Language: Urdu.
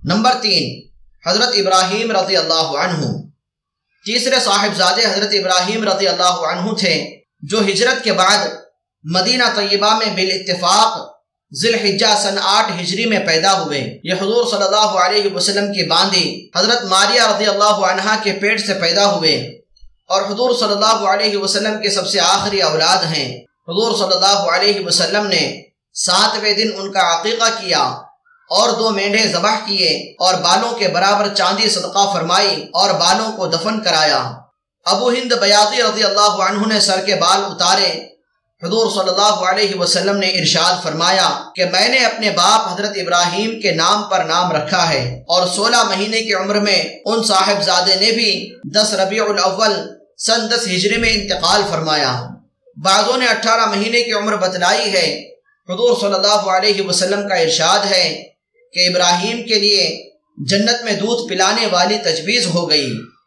نمبر 3، حضرت ابراہیم رضی اللہ عنہ۔ تیسرے صاحبزادے حضرت ابراہیم رضی اللہ عنہ تھے جو ہجرت کے بعد مدینہ طیبہ میں بالاتفاق ذی الحجہ سن 8 ہجری میں پیدا ہوئے۔ یہ حضور صلی اللہ علیہ وسلم کی باندی حضرت ماریہ رضی اللہ عنہا کے پیٹ سے پیدا ہوئے اور حضور صلی اللہ علیہ وسلم کے سب سے آخری اولاد ہیں۔ حضور صلی اللہ علیہ وسلم نے 7ویں دن ان کا عقیقہ کیا اور 2 مینڈھے ذبح کیے اور بالوں کے برابر چاندی صدقہ فرمائی اور بالوں کو دفن کرایا۔ ابو ہند بیاضی رضی اللہ عنہ نے سر کے بال اتارے۔ حضور صلی اللہ علیہ وسلم نے ارشاد فرمایا کہ میں نے اپنے باپ حضرت ابراہیم کے نام پر نام رکھا ہے، اور 16 مہینے کی عمر میں ان صاحبزادے نے بھی 10 ربیع الاول سن 10 ہجری میں انتقال فرمایا۔ بعضوں نے 18 مہینے کی عمر بتلائی ہے۔ حضور صلی اللہ علیہ وسلم کا ارشاد ہے کہ ابراہیم کے لیے جنت میں دودھ پلانے والی تجویز ہو گئی۔